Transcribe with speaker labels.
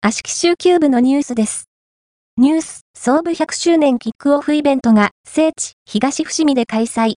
Speaker 1: 芦木集球部のニュースです。ニュース、創部100周年キックオフイベントが聖地、東伏見で開催。